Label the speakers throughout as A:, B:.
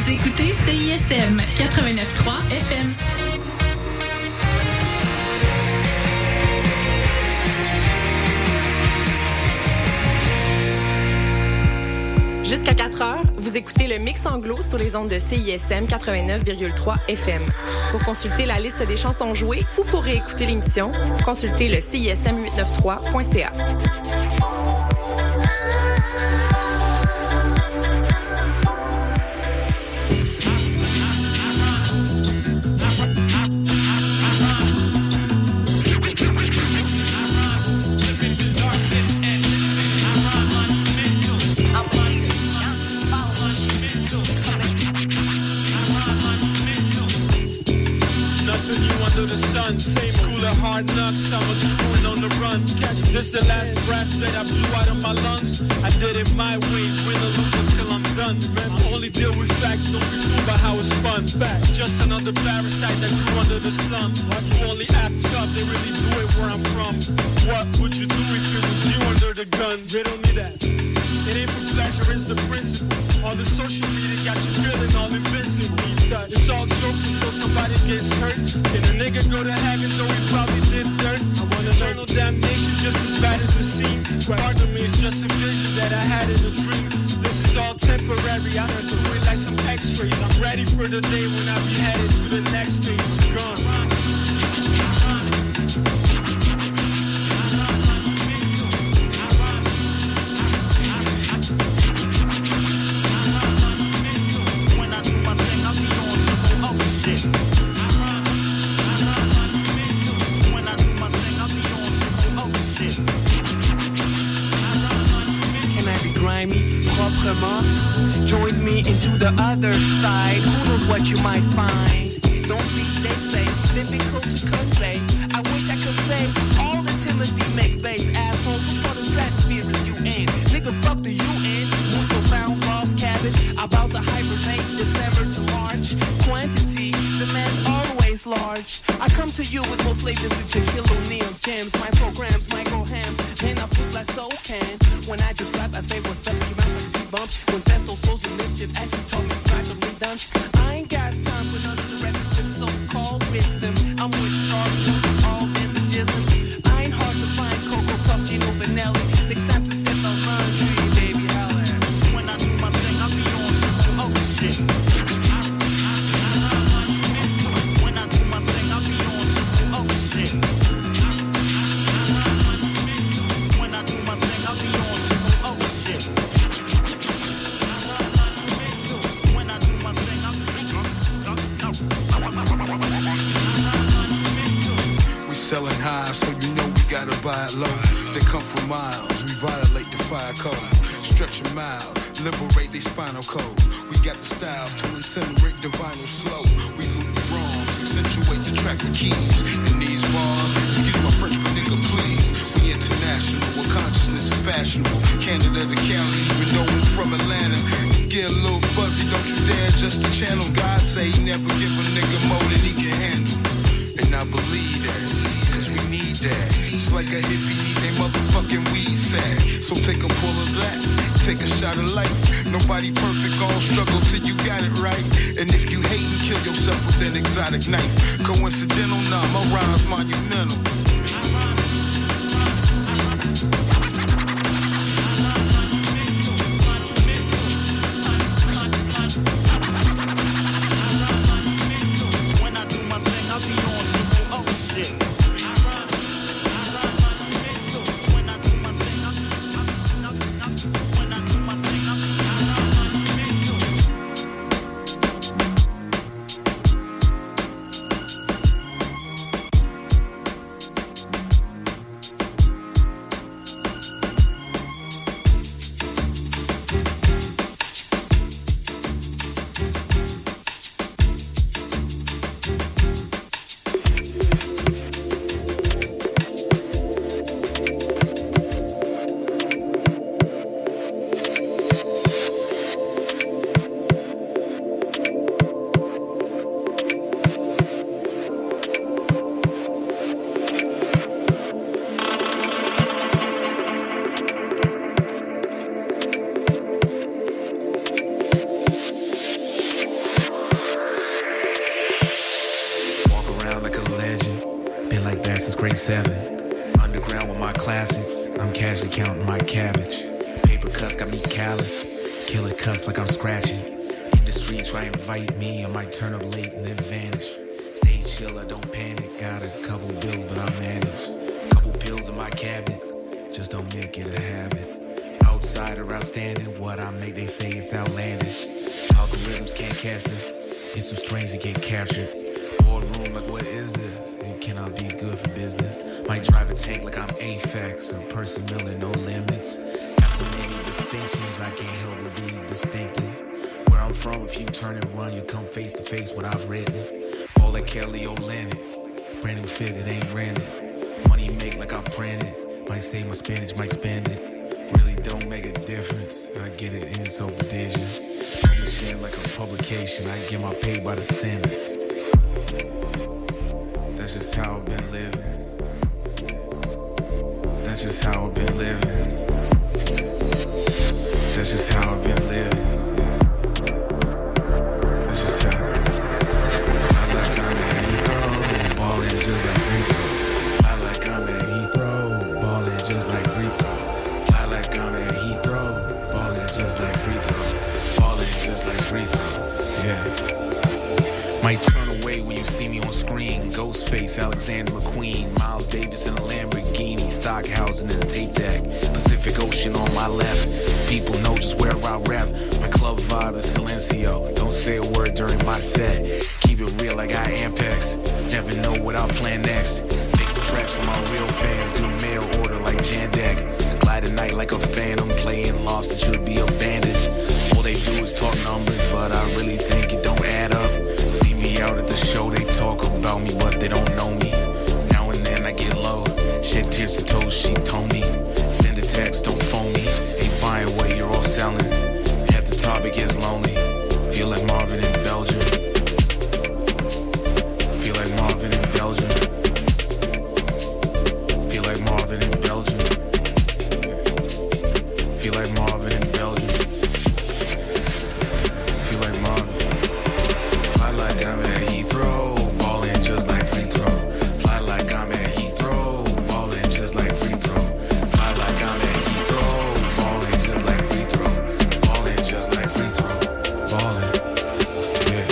A: écoutez CISM 89.3 FM.
B: Jusqu'à 4 heures, vous écoutez le Mix Anglo sur les ondes de CISM 89,3 FM. Pour consulter la liste des chansons jouées ou pour réécouter l'émission, consultez le CISM893.ca.
C: The sun, same school of hard knocks, summer schooling on the run. This the last breath that I blew out of my lungs. I did it my way, win or lose until I'm done. I only deal with facts, don't be fooled by how it's fun. Just another parasite that grew under the slum. Who only act tough, they really do it where I'm from. What would you do if it was you under the gun? Riddle me that. It ain't for pleasure, it's the principle. All the social media got you feeling all invincible. It's all jokes until somebody gets hurt. Can a nigga go to heaven though he probably did dirt? I want eternal damnation just as bad as it seems. Part of me is just a vision that I had in a dream. This is all temporary, I have to do it like some x-rays. I'm ready for the day when I be headed to the next stage. Gone.
D: Join me into the other side. Who knows what you might find? Don't be, they say, difficult to convey. I wish I could say all the Timothy McVeigh's assholes. Who's for the stratosphere is you ain't. Nigga, fuck the UN. Who's so found lost cabbage? About to hibernate December to March. Quantity, demand always large. I come to you with more flavors with your kilo meals, jams, my programs, micro ham. And I flip like so can. When I just rap, I say what's up, you bounce like a bumps. When Festo social mischief actually told me scratch up and done. I ain't got time for none of the repetitive so-called rhythm. I'm with sharpshooters, all in the jism. I ain't hard to find, Cocoa Puff, Gino Vanelli. Next time to step out laundry, baby, holla. When I do my thing, I be on some other shit. When I do my thing, I be on some other shit. When I do my thing, I be on some other shit. When I do my thing, I be
E: We selling high, so you know we gotta buy it low. They come from miles, we violate the fire code. Stretch them out, liberate their spinal code. We got the styles to incinerate the vinyl slow. We loop the drums, accentuate the track with keys. In these bars, excuse my French, but nigga please. We international, where consciousness is fashionable. Canada to Cali, even though I'm from Atlanta. Get a little fuzzy, don't you dare just to channel. God say he never give a nigga more than he can handle. And I believe that, cause we need that. Just like a hippie need they motherfucking weed sack. So take a pull of that, take a shot of life. Nobody perfect, all struggle till you got it right. And if you hate and kill yourself with an exotic knife. Coincidental, nah, my rhyme's monumental.
F: 7. Underground with my classics, I'm casually counting my cabbage. Paper cuts got me calloused, killer cuts like I'm scratching. Industry try and invite me, I might turn up late and then vanish. Stay chill, I don't panic, got a couple bills but I manage. Couple pills in my cabinet, just don't make it a habit. Outsider outstanding, what I make they say it's outlandish. Algorithms can't catch this, it's too strange to get captured. Boardroom like what is this? It cannot be good for business. Might drive a tank like I'm Apex, a person Miller, no limits. Got so many distinctions, I can't help but be distinctive. Where I'm from, if you turn and run, you come face to face what I've written. All like Kelly Olynyk, brand new fit, it ain't rented. Money make like I print it, might save my spinach, might spend it. Really don't make a difference, I get it and it's so prodigious. Publishing like a publication, I get my pay by the sentence. That's just how I've been living. That's just how I've been living. That's just how I've been living. That's just how. I like I'm at Heathrow, ballin' just like free throw. I like I'm at Heathrow, ballin' just like free throw. I like I'm at Heathrow, ballin' just like free throw. Ballin' just like free throw. Yeah. Might turn away when you see me on screen. Ghostface, Alexander McQueen, Miles Davis in a Lamborghini, Stockhausen in a tape deck, Pacific Ocean on my left. People know just where I rap. My club vibe is Silencio. Don't say a word during my set. Keep it real, I got Ampex. Never know what I'll plan next. Mix the tracks for my real fans. Do mail order like Jandak. Glide at night like a phantom. Playing lost, it should be abandoned. All they do is talk numbers, but I really think it don't add up. See me out at the show, they talk about me, but they don't know me. Now and then I get low. Shed tears to toes, she told me. Send a text, don't phone me. Ain't buying what you're all selling. At the top it gets lonely. Feel like Marvin in Belgium. Feel like Marvin in Belgium. Feel like Marvin in Belgium. Feel like Marvin in Belgium. Feel like Marvin. Fly like I'm at Heathrow, ballin' just like free throw. Fly like I'm at Heathrow, ballin' just like free throw. Fly like I'm at Heathrow, ballin' just like free throw. Ballin' just like free throw. Ballin', yeah.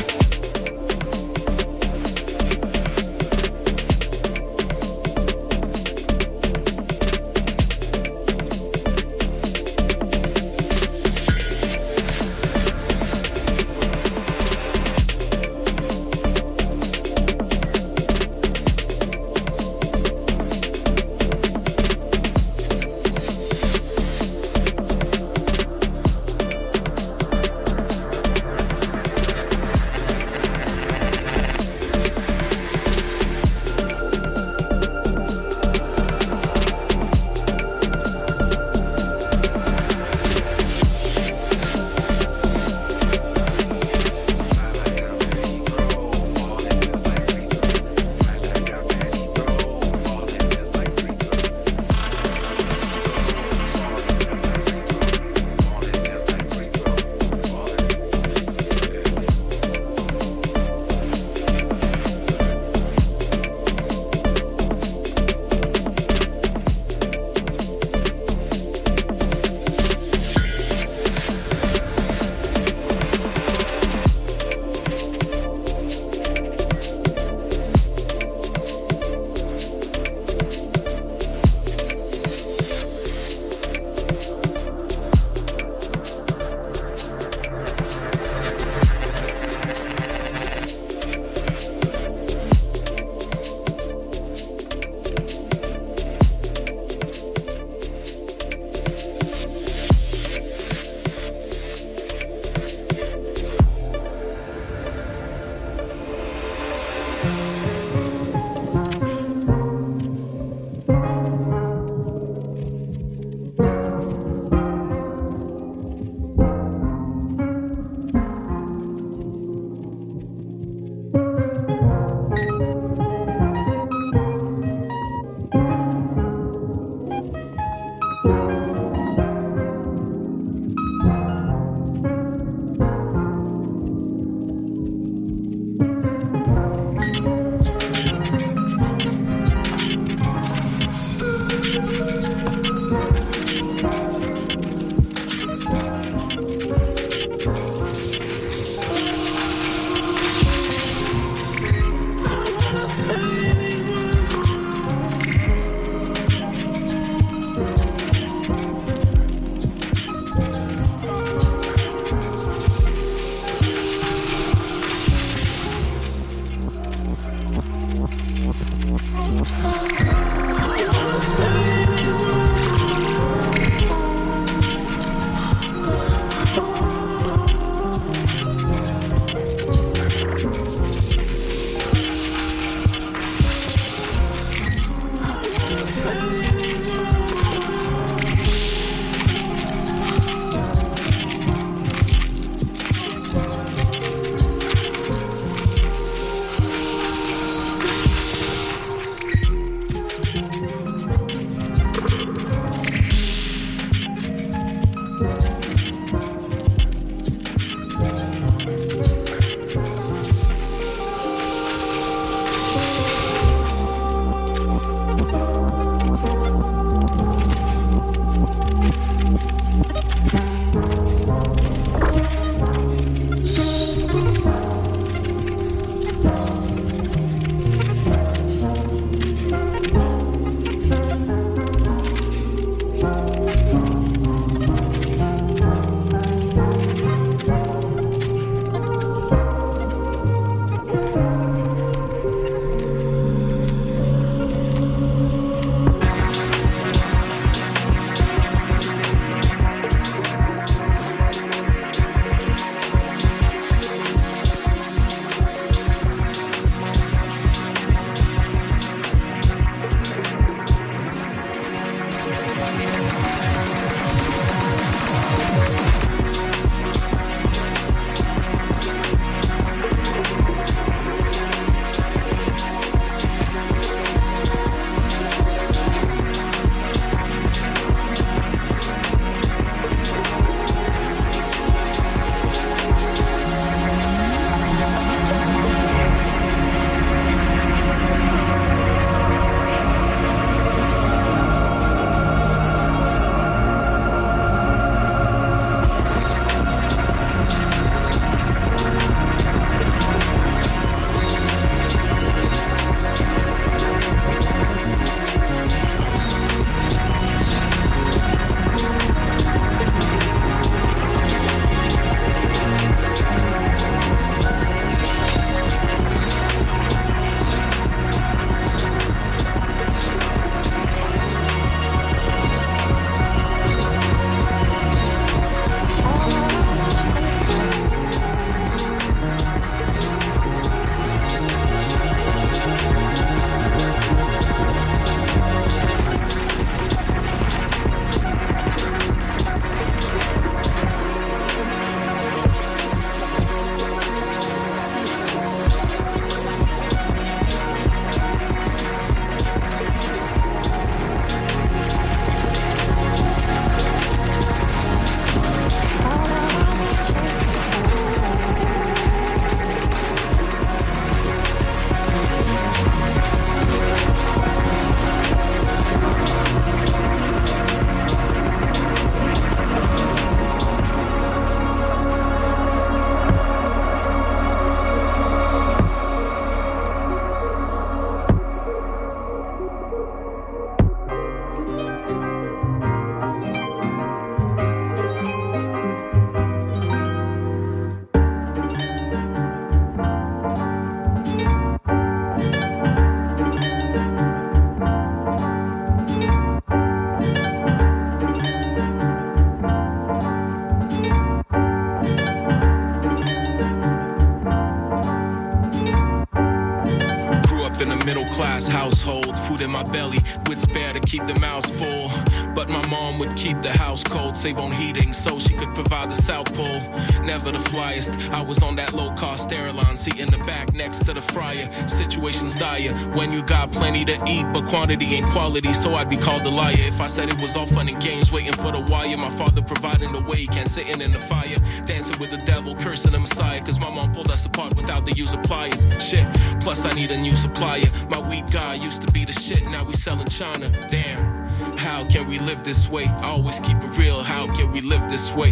G: Middle-class household, food in my belly, wits bare to keep the mouth full. But my mom would keep the house cold, save on heating so she could provide the South Pole. Never the flyest, I was on that low-cost airline seat in the back next to the fryer. Situation's dire when you got plenty to eat, but quantity ain't quality, so I'd be called a liar if I said it was all fun and games, waiting for the wire. My father providing the way, can't sitting in the fire, dancing with the devil, cursing the Messiah, cause my mom pulled us apart without the use of pliers. Shit, plus I need a new supplier. My weak guy used to be the shit, now we selling China. Damn, how can we live this way? I always keep it real, how can we live this way?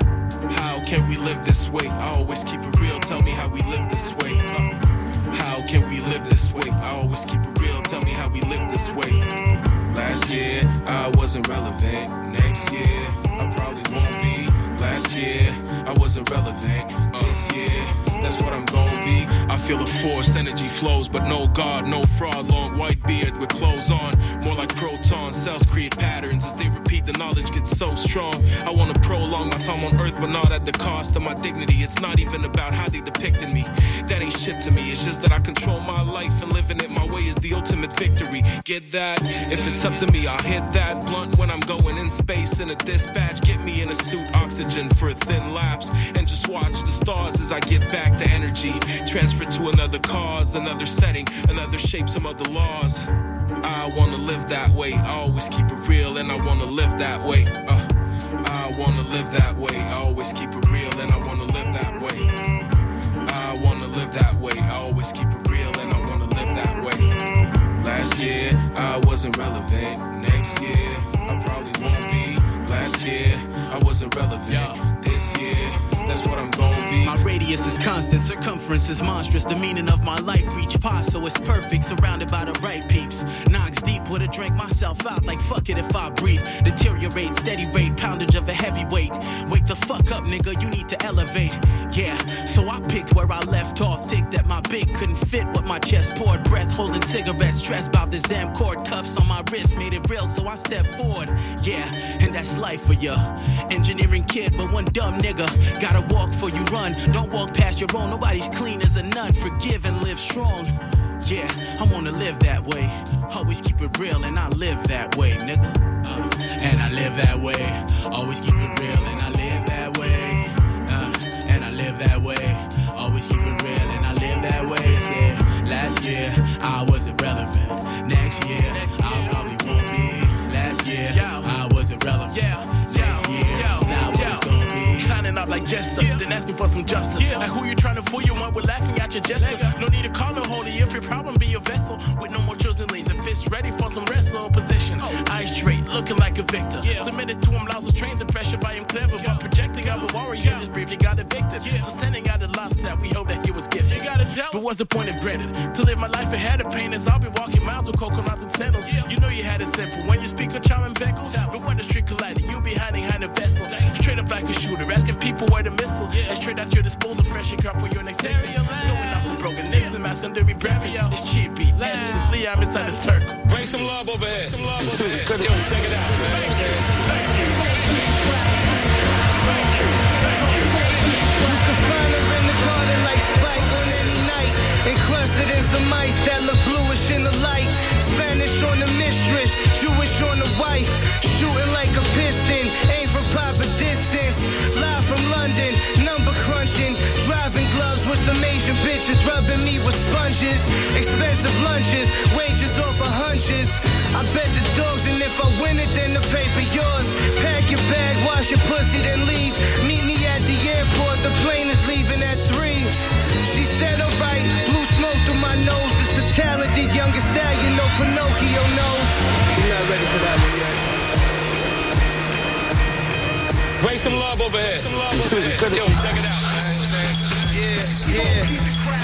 G: How can we live this way? I always keep it real, tell me how we live this way. How can we live this way? I always keep it real, tell me how we live this way. Last year, I wasn't relevant. Next year, I probably won't be. Last year, I wasn't relevant. This year, that's what I'm gonna be. I feel a force, energy flows, but no God, no fraud. Long white beard with clothes on, more like protons. Cells create patterns as they repeat, the knowledge gets so strong. I wanna prolong my time on earth, but not at the cost of my dignity. It's not even about how they depicted me. That ain't shit to me, it's just that I control my life, and living it my way is the ultimate victory. Get that? If it's up to me, I'll hit that blunt when I'm going in space in a dispatch. Get me in a suit, oxygen for a thin lapse, and just watch the stars as I get back to energy. Transfer to another cause, another setting, another shape, some other laws. I wanna live that way, I always keep it real, and I wanna live that way. I wanna live that way, I always keep it real, and I wanna live that way. I wanna live that way, I always keep it real, and I wanna live that way. Last year, I wasn't relevant. Next year, I probably won't be. Last year, I I was irrelevant. This year, that's what I'm gonna be.
H: My radius is constant, circumference is monstrous. The meaning of my life reach past, so it's perfect. Surrounded by the right peeps. Knocks deep, would've drank myself out like fuck it if I breathe. Deteriorate, steady rate, poundage of a heavyweight. Wake the fuck up, nigga, you need to elevate. Yeah, so I picked where I left off. Think that my big couldn't fit what my chest poured. Breath holding cigarettes, stressed about this damn cord. Cuffs on my wrist made it real, so I stepped forward. Yeah, and that's life for ya. Engineering kid, but one dumb nigga. Gotta walk for you run. Don't walk past your own. Nobody's clean as a nun. Forgive and live strong. Yeah, I wanna live that way. Always keep it real, and I live that way, nigga. And I live that way. Always keep it real, and I live that way. And I live that way. Always keep it real, and I live that way. Yeah, last year I was irrelevant. Next year I probably won't be. Last year I was irrelevant. Next year it's not what it's gonna be.
I: Climbing up like Jester, then asking for some justice. Like who you trying to fool? You want we're laughing at your gesture. No need to call no holy if your problem be a vessel. With no more chosen lanes and fists ready for some wrestle position. Eyes straight, looking like a victor. Submitted to him, lost his trains and pressure by him clever. But projecting out a warrior, just briefly got evicted. So standing at the lost that we hope that he was gifted. But what's the point of granted? To live my life ahead of pain as I'll be walking miles with coconuts and sandals. You know you had it simple when you speak of charm and beckle. But when the street collided, you be hiding behind a vessel. Straight up like a shooter, asking people where the missile. And straight at your disposal, fresh and cut for your next victim. Going off and broken, Nixon mask under me breathing. It's cheapy, instantly I'm inside the circle.
C: Bring some love over here. Some love over here. Yo, check it out, man.
J: Thank you. You can find her in the garden like Spike on any night. Encrusted in some ice that look bluish in the light. Spanish on the mistress, Jewish on the wife. Shooting like a piston, aim for proper distance. Live from London, number crunching. Driving gloves with some Asian bitches, rubbing me with sponges. Expensive lunches, wages off of hunches. I bet the dogs, and if I win it, then the paper yours. Pack your bag, wash your pussy, then leave. Meet me at the airport, the plane is leaving at 3. She said, alright, blue smoke through my nose. It's the talented youngest stallion, no Pinocchio knows. You're not ready for that one yet.
C: Bring some love over here. Some love over here. Yo, check it out.
J: Yeah.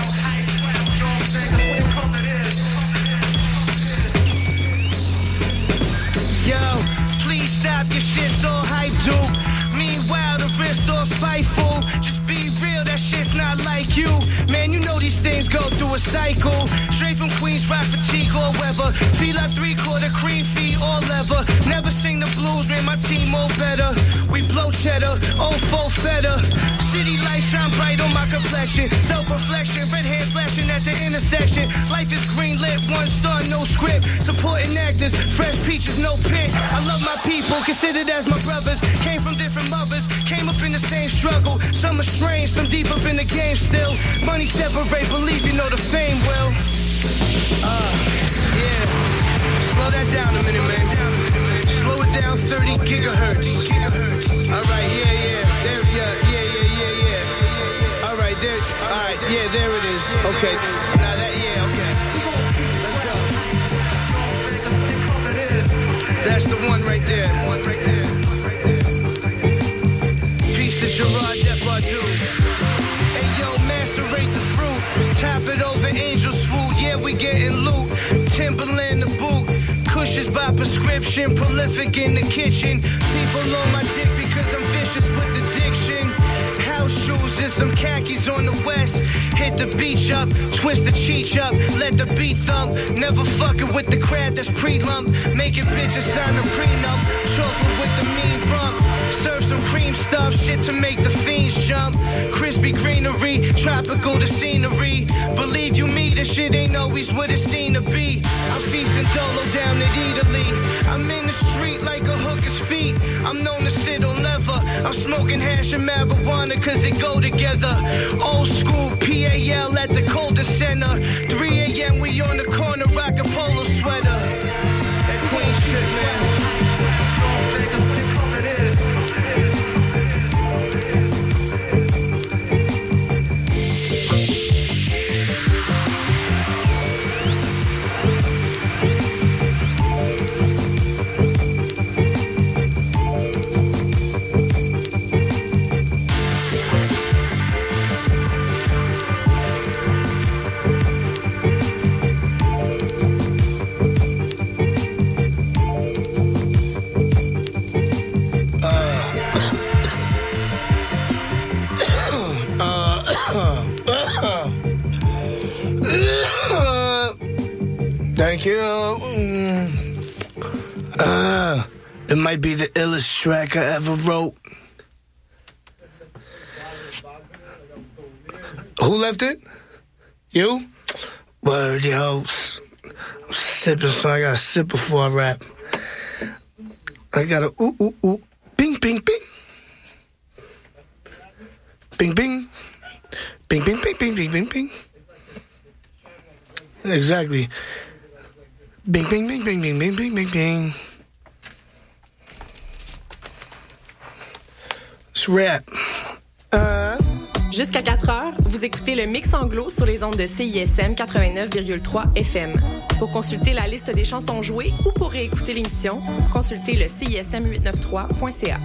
J: Yo, please stop your shit so hype, dude. Meanwhile, the wrist all spiteful. Just be real, that shit's not like you. Man, you know these things go through a cycle. Straight from Queens, rock fatigue or weather. Feel like 3/4 cream feet or leather. Never sing the blues, man, my team all better. We blow cheddar, old faux feta. City lights shine bright on my complexion. Self-reflection, red hands flashing at the intersection. Life is green lit, 1 star, no script. Supporting actors, fresh peaches, no pit. I love my people, considered as my brothers. Came from different mothers, came up in the same struggle. Some are strange, some deep up in the game still. Money separate, believe you know the fame will. Yeah. Slow that down a minute, man. Slow it down 30 gigahertz. Alright, yeah. There, yeah. Alright, there. Alright, yeah, there it is. Okay. Now that, yeah, okay. Let's go. That's the one right there. Peace to Gerard Depardieu. Hey, yo, macerate the fruit. Tap it over angel swoop. Yeah, we getting loot. Timberland the boot. Cushions by prescription. Prolific in the kitchen. People on my dick because I'm vicious with addiction. House shoes and some khakis on the west. Hit the beach up, twist the cheech up, let the beat thump. Never fucking with the crowd that's pre-lump. Making bitches sign a prenup. Chocolate with the mean rump. Serve some cream stuff, shit to make the fiends jump. Crispy greenery, tropical the scenery. Believe you me, this shit ain't always what it seemed to be. I'm feasting dolo down at Italy. I'm in the street like a hooker's feet. I'm known to sit on leather. I'm smoking hash and marijuana cause it go together. Old school PAL at the Colder Center. 3 a.m. we on the corner rockin' polo sweater. That Queen shit, man. Thank you. It might be the illest track I ever wrote. Who left it? You? Word, yo. I'm sipping, so I gotta sip before I rap. I gotta ooh. Bing, bing, bing. Bing, bing. Bing, bing, bing, bing, bing, bing, bing. Exactly. Bing, bing, bing, bing, bing, bing, bing, bing, bing. It's rap.
B: Jusqu'à 4 heures, vous écoutez le Mix Anglo sur les ondes de CISM 89,3 FM. Pour consulter la liste des chansons jouées ou pour réécouter l'émission, consultez le CISM893.ca.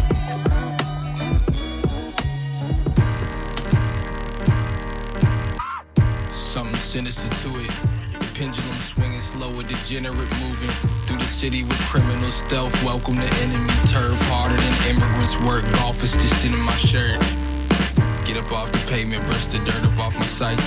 G: Something sinister to it. Pendulum swinging slow, a degenerate moving through the city with criminal stealth. Welcome to enemy turf, harder than immigrants work. Golf is distant in my shirt. Get up off the pavement, brush the dirt up off my psyche.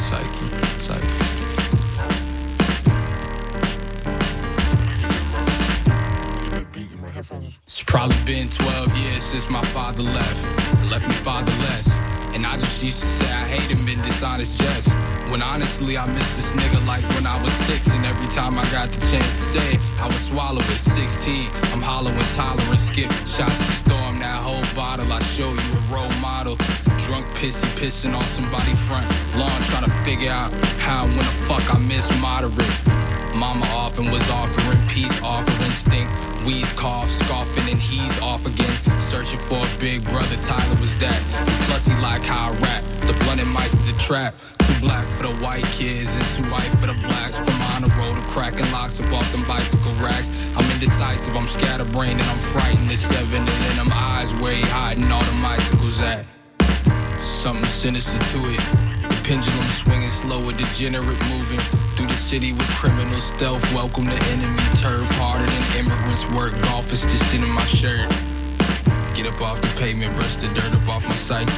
G: It's probably been 12 years since my father left me fatherless. And I just used to say I hate him in dishonest jest. When honestly I miss this nigga like when I was 6. And every time I got the chance to say it, I would swallow it. 16, I'm hollow and tolerant. Skip shots to storm that whole bottle. I show you a role model. Drunk pissing on somebody's front lawn, trying to figure out how and when the fuck I miss moderate. Mama often was offering peace, offering stink. Wheeze, cough, scoffing, and he's off again. Searching for a big brother, Tyler was that. And plus he like how I rap. The blunt and mice the trap. Too black for the white kids and too white for the blacks. From on the road to cracking locks up off them bicycle racks. I'm indecisive, I'm scatterbrained, and I'm frightened. At 7 and in them eyes where he hiding all the bicycles at. Something sinister to it. The pendulum swinging slow, a degenerate moving through the city with criminal stealth. Welcome to enemy turf, harder than immigrants work. Golf is distant in my shirt. Get up off the pavement, brush the dirt up off my psyche.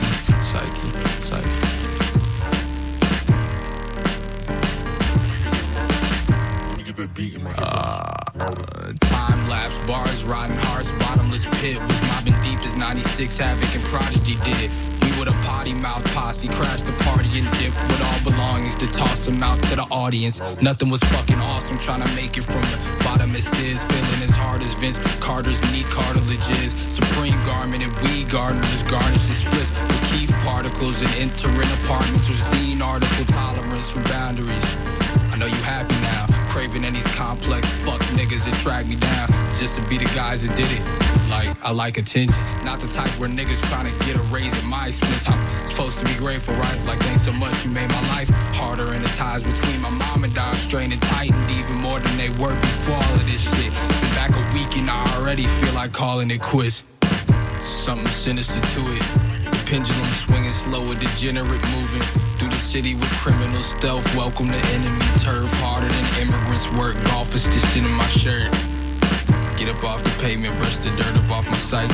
G: Time lapse, bars, riding hearts, bottomless pit. Was mobbing deep as 96 Havoc and Prodigy did. We with a potty mouth posse, crashed the party and dipped with all belongings to toss them out to the audience. Nothing was fucking awesome, trying to make it from the bottom as is. Feeling as hard as Vince Carter's knee cartilage is. Supreme garment and weed gardeners garnish and splits with Keith particles and entering apartments with zine article tolerance for boundaries. I know you happy now, craving in these complex fuck niggas that track me down just to be the guys that did it. Like, I like attention, not the type where niggas trying to get a raise at my expense. I'm supposed to be grateful, right? Like, thanks so much, you made my life harder. And the ties between my mom and Dad strained and tightened even more than they were before all of this shit. Been back a week and I already feel like calling it quits. Something sinister to it. The pendulum swinging slow, a degenerate moving through the city with criminal stealth. Welcome to enemy turf, harder than immigrants work. Golf is distant in my shirt. Get up off the pavement, brush the dirt up off my psyche.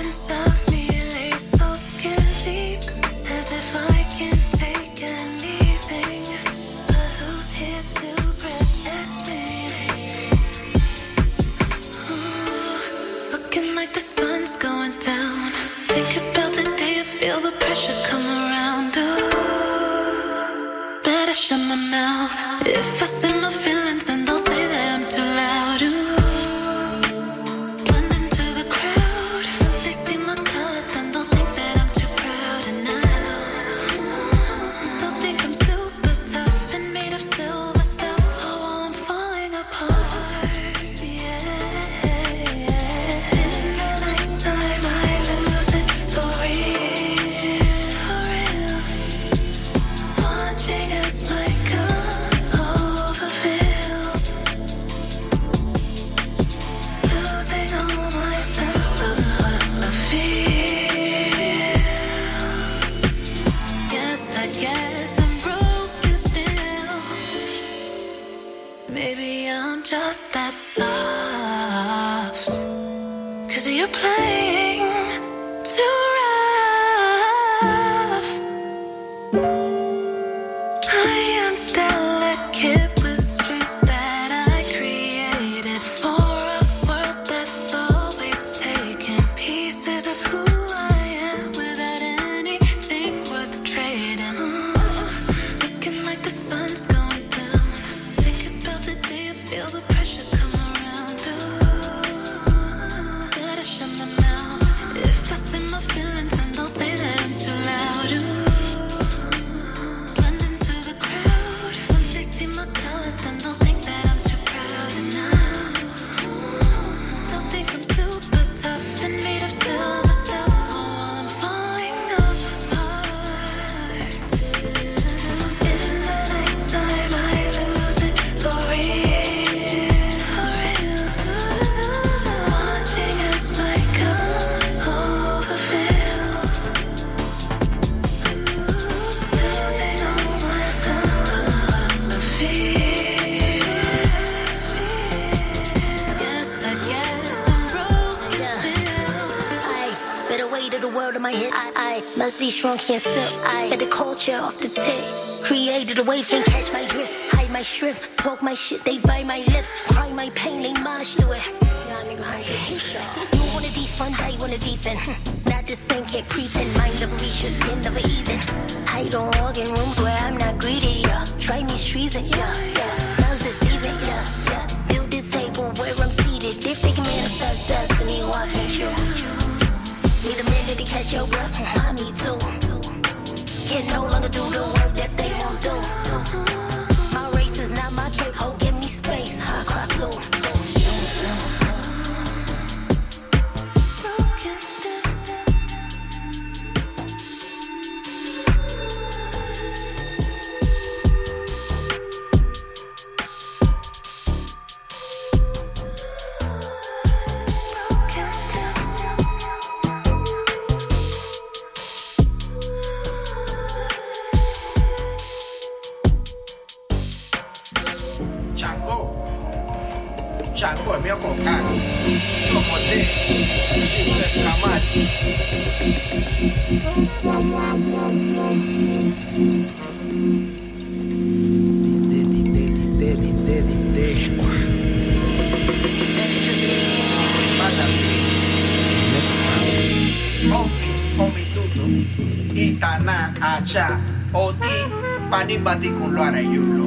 K: Shrunk, can't sip. I fed the culture off the tip. Created a wave, can't catch my drift. Hide my shrimp, talk my shit, they bite my lips. Cry my pain, they mosh to it. You wanna defund, I wanna defend. Not the same, can't pretend. Mind of a leash, skin of a heathen. Hide on organ rooms where I'm not greedy, yeah. Try me streets and smells deceiving, Build this table where I'm seated. If they can manifest destiny, why can't you? Need a minute to catch your breath, I need to. Can no longer do the work that they won't do. My race is not my cape, oh, give me space, I cry too.
L: Chango è mio compagno, suo potere, Giuseppe Camati. Omi tutto, Itana, Acha, Odi, Panibati con l'ora Yulo,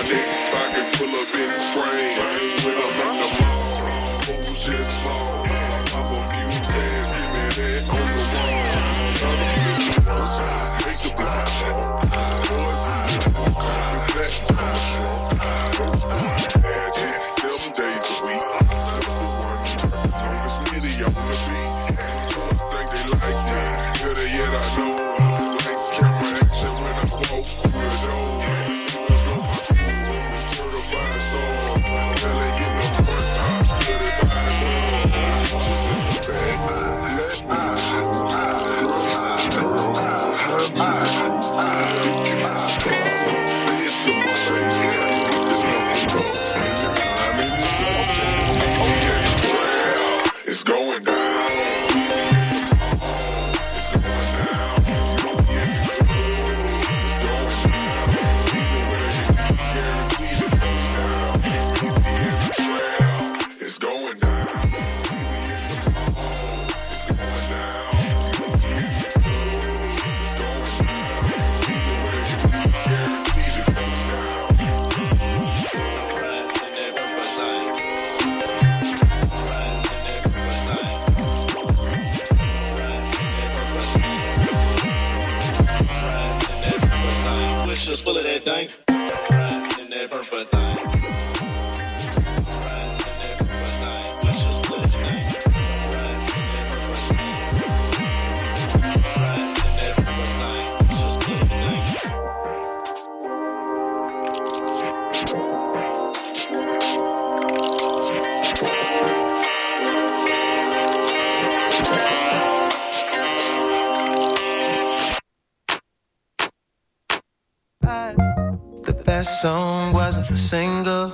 M: Song wasn't the single,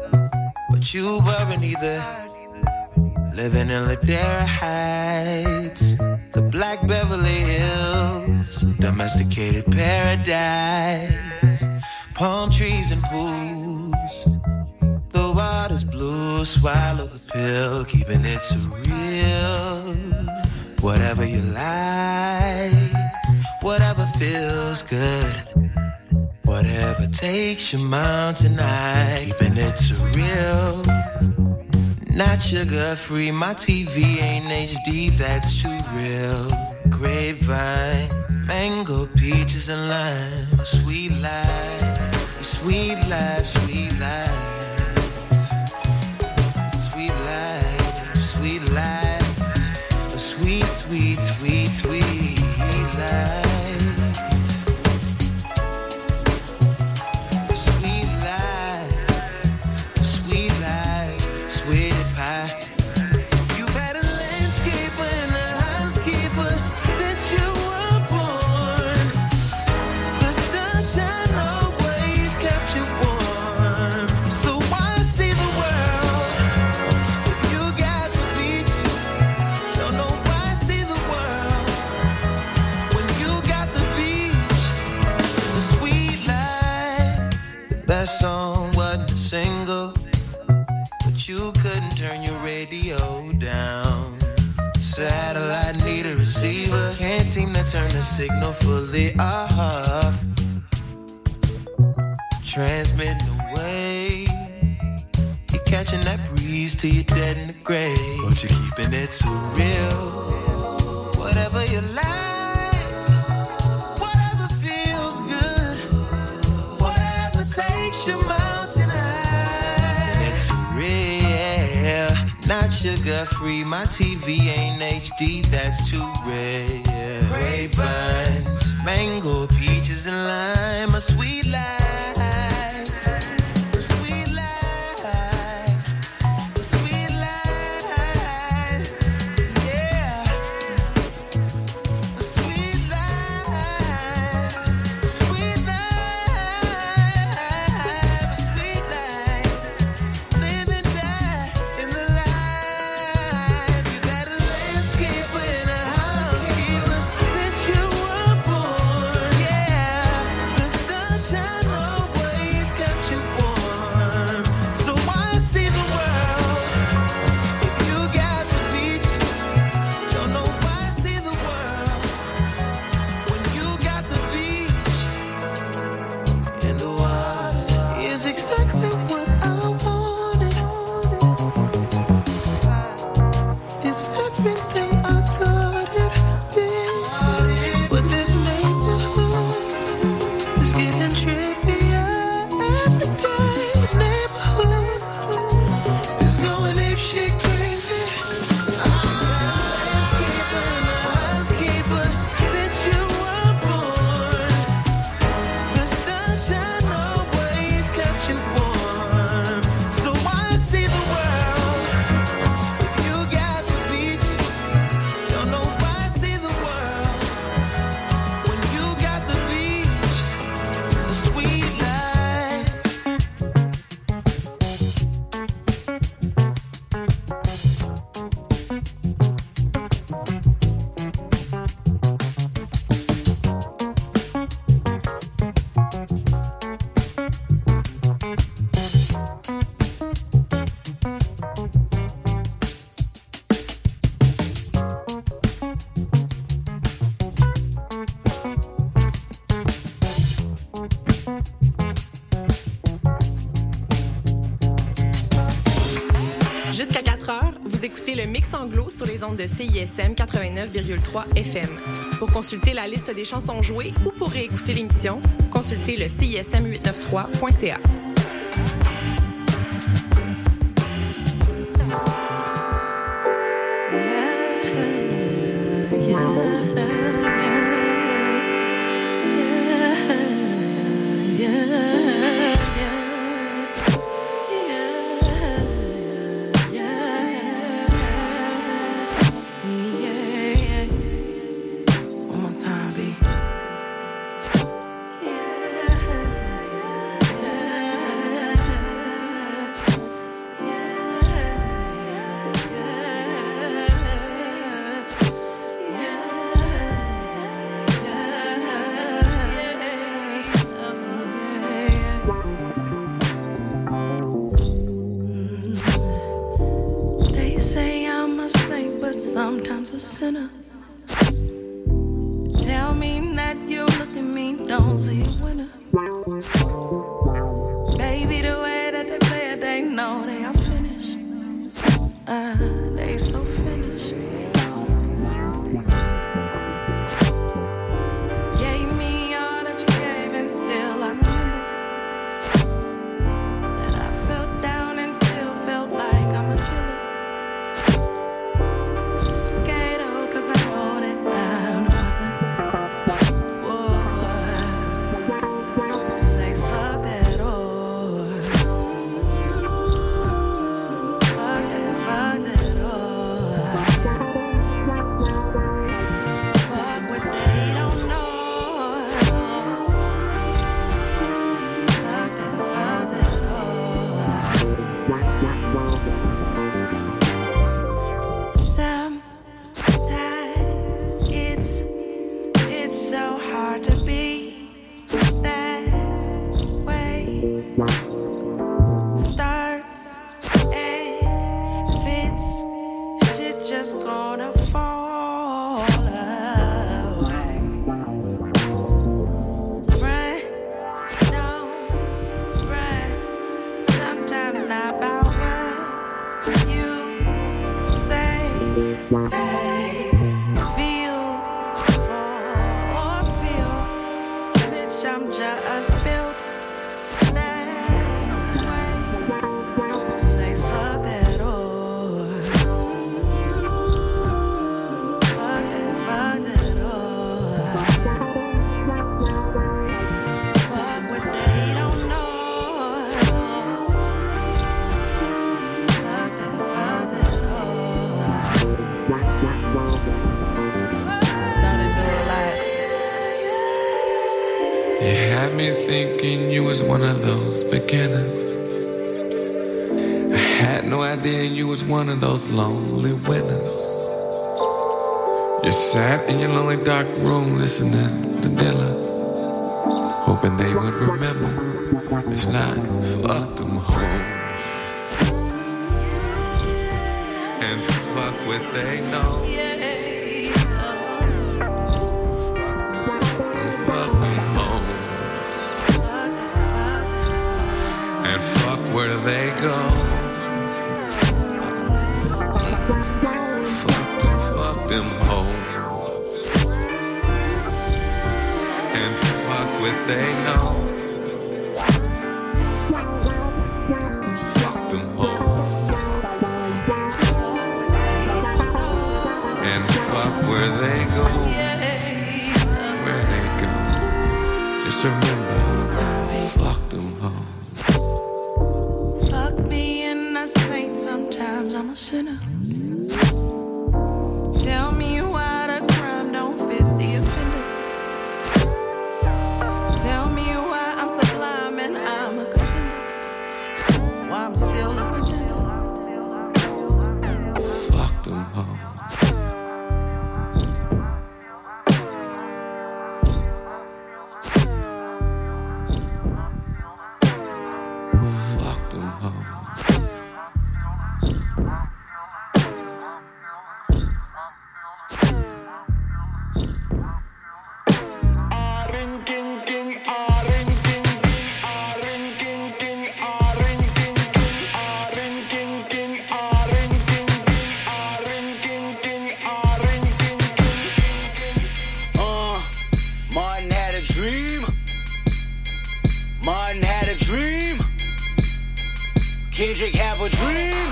M: but you weren't either. Living in Ladera Heights, the Black Beverly Hills, domesticated paradise, palm trees and pools. The water's blue, swallow the pill, keeping it surreal. Whatever you like, whatever feels good. Whatever takes your mountain high, keeping it surreal. Not sugar free, my TV ain't HD, that's too real. Grapevine, mango, peaches and lime. Sweet life, sweet life, sweet life. Sweet life, sweet life. A sweet, sweet, sweet, sweet life. That song wasn't a single, but you couldn't turn your radio down. Satellite need a receiver, can't seem to turn the signal fully off. Transmitting away, you're catching that breeze till you're dead in the grave, but you're keeping it so real. Whatever you like, takes your mountain high. It's real, not sugar free. My TV ain't HD, that's too rare. Grapevines, mango, peaches and lime. A sweet life, a sweet life, a sweet life. Yeah, a sweet life, a sweet life. Shine
B: Vous écoutez le Mix Anglo sur les ondes de CISM 89,3 FM. Pour consulter la liste des chansons jouées ou pour réécouter l'émission, consultez le CISM893.ca.
N: Sometimes a sinner. Tell me that you look at me, don't see a winner. Baby, the way that they play it, they know they are finished. They so finished. Gave me all that you gave, and still I remember that I felt down and still felt like I'm a killer. It's okay though, 'cause I know that I'm say fuck that all. Fuck that all. Fuck what they don't know. Fuck that all. Sometimes it's so hard to be that way. Starts and fits, shit just gonna fall away. Front, don't front. Sometimes not about what you say. Feel for feel. Bitch, I'm just built that way. Say fuck that all. Fuck that all. Fuck what they don't know. Fuck that all.
F: You had me thinking you was one of those beginners. I had no idea you was one of those lonely winners. You sat in your lonely dark room listening to Dilla, hoping they would remember. If not, fuck them hoes. And fuck what they know. And fuck where they go. Fuck them hoes. And fuck what they know. Fuck them hoes. And fuck where they go. Where they go. Just remember, fuck them hoes.
N: Fuck me and I saint, sometimes I'm a sinner. Tell me why the crime don't fit the offender. Tell me why I'm sublime and I'm a contender. Why I'm still a contender.
F: Fuck them hoes. Fuck them hoes.
O: a dream. Kendrick have a dream.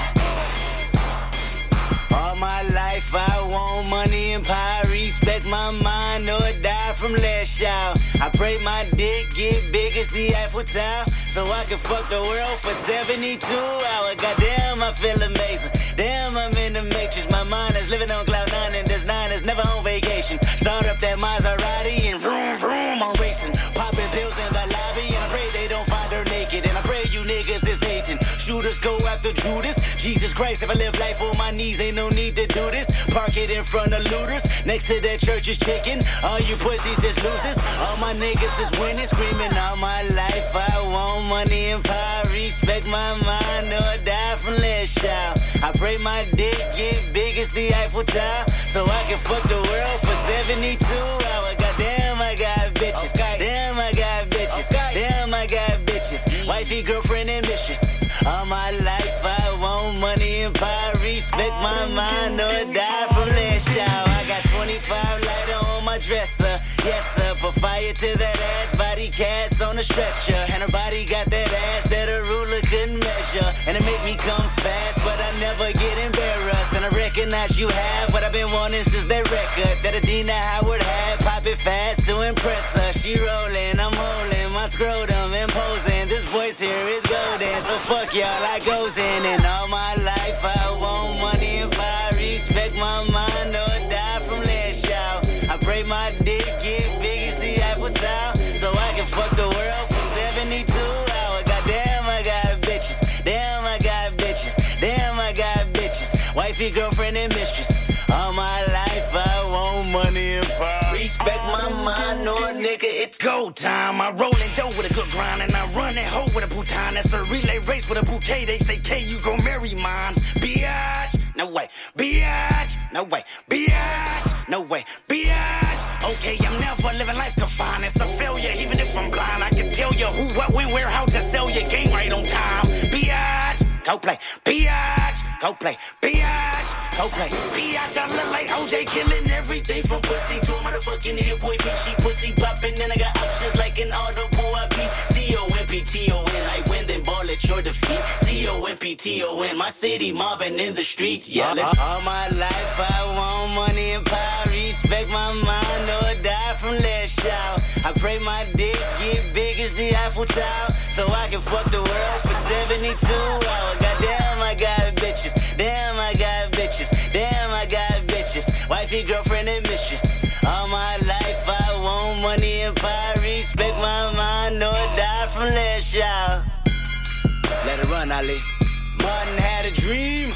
O: All my life I want money and power. Respect my mind or die from less shout. I pray my dick get big as the Eiffel Tower, so I can fuck the world for 72 hours. Goddamn, I feel amazing. Damn, I'm in the matrix. My mind is living on cloud nine, and this nine is never on vacation. Start up that Maserati and vroom vroom, I'm racing. Popping pills in the lobby, and I pray they don't find her naked. And I pray you niggas is hating. Shooters go after Judas. Jesus Christ, if I live life on my knees, ain't no need to do this. Park it in front of looters. Next to that church is chicken. All you pussies is losers. All my niggas is winning, screaming all my life. I want money and power. Respect my mind or die from less shout. I pray my dick get big as the Eiffel Tower, so I can fuck the world for 72 hours. Goddamn, I got bitches. Damn, I got bitches. Damn, I got bitches. Wifey, girlfriend, and mistress. All my life I want money and power. Respect my mind or die from less shout. I got 25 lighter on my dresser. Yes, sir. Put fire to that ass. Body cast on a stretcher. And her body got that ass that a ruler couldn't measure. And it make me come fast, but I never get embarrassed. And I recognize you have what I've been wanting since that record that Adina Howard had. Pop it fast to impress her. She rolling, I'm holding my scrotum, imposing. This voice here is golden, so fuck y'all, I goes in. And all my life I want money and power. Respect my mind or die from less shout. I pray my dick get big as the Eiffel Tower, so I can fuck the world for 72 hours. Goddamn, I got bitches. Damn, I got bitches. Damn, I got bitches. Wifey, girlfriend, and mistress. All my life I want money and power. Respect my mind or nigga, it's go time. I roll in dough with a good grind, and I run that hoe with a bouton. That's a relay race with a bouquet. They say, K, you gon' marry mines. Biatch, no way. Biatch, no way. Biatch, no way. Biatch. Okay, I'm never living life confined. It's a failure, even if I'm blind. I can tell you who, what, when, where, how to sell your game right on time. Biatch, go play. Biatch, go play. Biatch, go play. Biatch, I look like OJ, killing everything from pussy to a motherfucking hit boy. Bitch, she pussy popping, and I got options like an audible. I be C-O-M-P-T-O-N. I win, then ball at your defeat. C-O-M-P-T-O-N. My city mobbing in the streets, yelling. All my life I want money and power. Respect my mind or die from less shout. I pray my dick get big as the Eiffel Tower, so I can fuck the world for 72 hours. Goddamn, I got bitches. Damn, I got bitches. Damn, I got bitches. Wifey, girlfriend, and mistress. All my life I want money and power. Respect my mind or die from less shout. Let it run, Ali. Martin had a dream.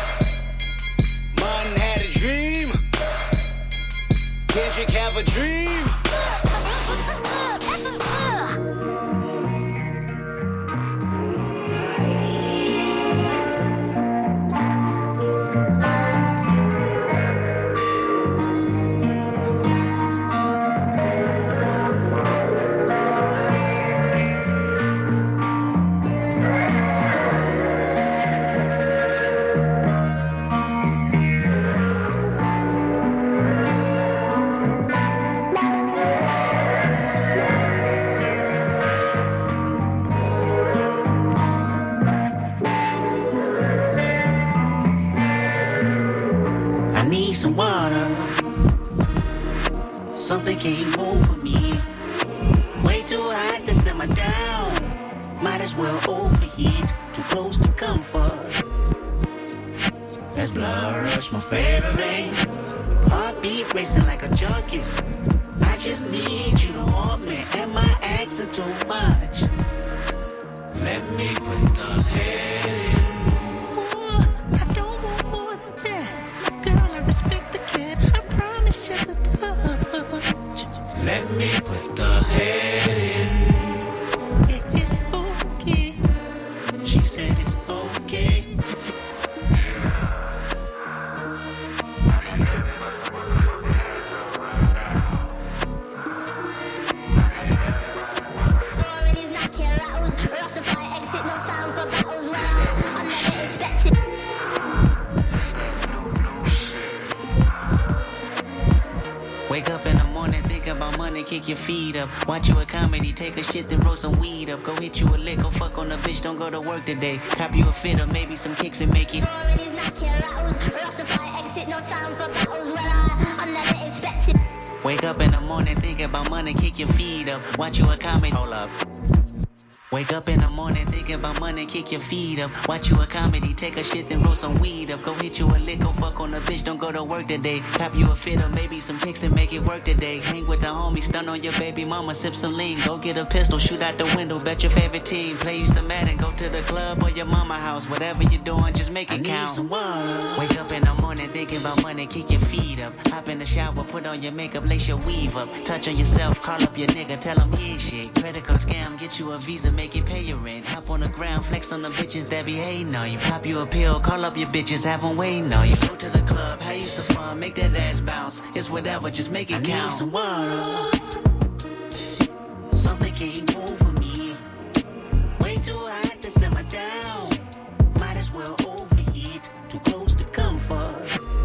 O: Martin had a dream. Kendrick have a dream. Some water. Something came over me. Way too hot to simmer down. Might as well overheat. Too close to comfort. That's blood rush, my favorite. Heartbeat racing like a junkie's. I just need you to want me. Am I asking too much? Let me put the head in. Let me put the head in. It's okay. She said it's okay. Authorities knock your hours. Rastafari exit, no time for battles. money, kick your feet up. Watch you a comedy, take a shit, then roll some weed up. Go hit you a lick, go fuck on a bitch, don't go to work today. Cop you a fit or maybe some kicks and make it.
K: No time for battles when I'm never expected.
O: Wake up in the morning, think about money, kick your feet up. Watch you a comedy, hold up. Wake up in the morning, thinking about money, kick your feet up. Watch you a comedy, take a shit, then roll some weed up. Go hit you a lick, go fuck on a bitch, don't go to work today. Cop you a fit or maybe some pics and make it work today. Hang with the homies, stun on your baby mama, sip some lean. Go get a pistol, shoot out the window, bet your favorite team. Play you some Madden, go to the club or your mama house. Whatever you're doing, just make it count. Some water. Wake up in the morning, thinking about money, kick your feet up. Hop in the shower, put on your makeup, lace your weave up. Touch on yourself, call up your nigga, tell him he ain't shit. Credit card scam, get you a visa, make it pay your rent. Hop on the ground, flex on the bitches that be hating on you. Pop you a pill, call up your bitches, have them waiting on you. Go to the club, have you some fun, make that ass bounce. It's whatever, just make it count. I need some water. Something can't move for me. Way too hot to simmer down. Might as well overheat, too close to comfort.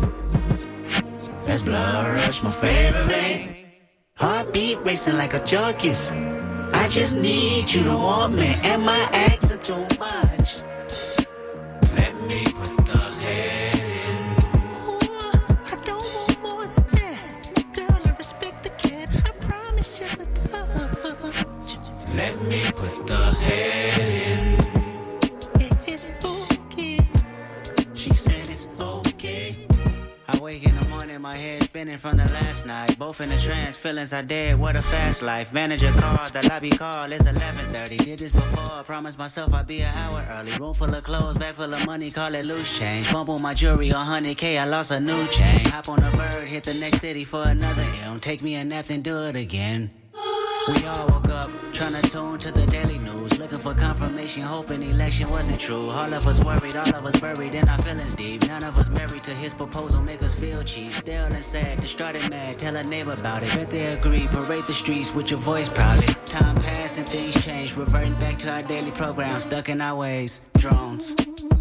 O: That's blood rush, my favorite vein. Heartbeat racing like a junkies. I just need you to want me. Am I asking too much? Let me put the head in.
N: Ooh, I don't want more than that. Girl, I respect the cat. I promise just a touch.
O: Let me put the head in.
N: If it's okay.
O: She said it's okay. I wake in the morning, my head spinning from the last night. Both in the trance, feelings are dead, what a fast life. Manager called, the lobby call, it's 11:30. Did this before, promised myself I'd be an hour early. Room full of clothes, bag full of money, call it loose change. Bump on my jewelry, 100K, I lost a new chain. Hop on a bird, hit the next city for another M. Take me a nap, then do it again. We all woke up, trying to tune to the daily news. Looking for confirmation, hoping election wasn't true. All of us worried, all of us buried in our feelings deep. None of us married to his proposal, make us feel cheap. Still and sad, distraught and mad, tell a neighbor about it. Bet they agree, parade the streets with your voice proudly. Time passed and things changed, reverting back to our daily program. Stuck in our ways, drones.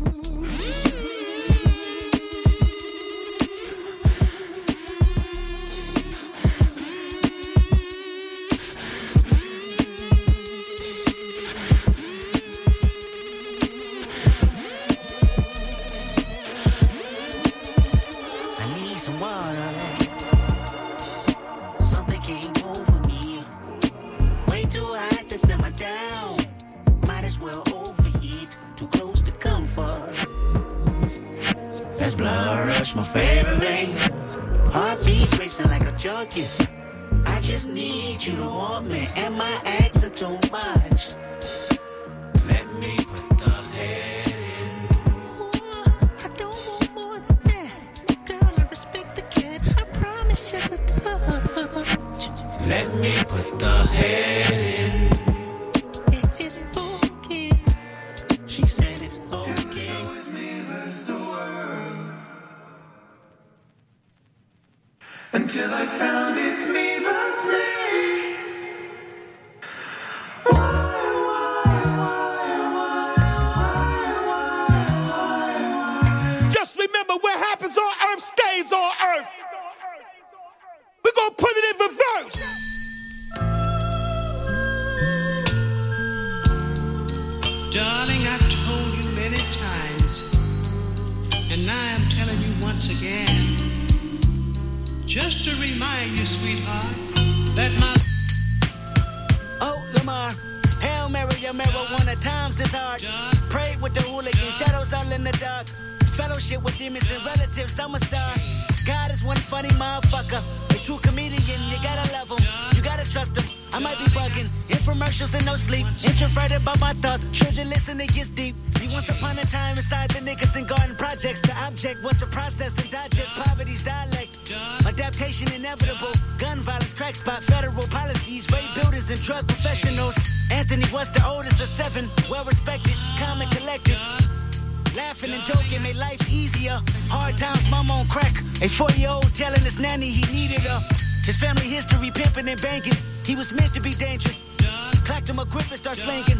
O: My favorite vein. Heartbeat racing like a junkies. I just need you to want me. Am I asking too much? Let me put the head in.
N: Ooh, I don't want more than that. Girl, I respect the cat. I promise just a touch.
O: Let me put the head in.
N: If it's okay.
O: She said it's okay.
P: Until I found it's me versus me.
Q: Just remember, what happens on earth stays on earth. We're gonna put it in reverse.
R: Darling, I told you many times, and now I'm telling you once again. Just to remind you, sweetheart, that my...
O: Oh, Lamar, Hail Mary, your marijuana times is hard. Prayed with the hooligan, shadows all in the dark. Fellowship with demons and relatives, I'm a star. God is one funny motherfucker. A true comedian, you gotta love him. You gotta trust him. I might be bugging. Infomercials and no sleep. Introverted by my thoughts. Children listen, it gets deep. See, once upon a time inside the niggas and garden projects, the object was to process and digest poverty's dialect. Adaptation inevitable. Gun violence, crack spot, federal policies, rape builders and drug professionals. Anthony was the oldest of 7. Well respected, calm and collected. Laughing and joking made life easier. Hard times, mama on crack. A 4-year-old telling his nanny he needed her. His family history pimping and banking. He was meant to be dangerous. Clacked him a grip and start slanging.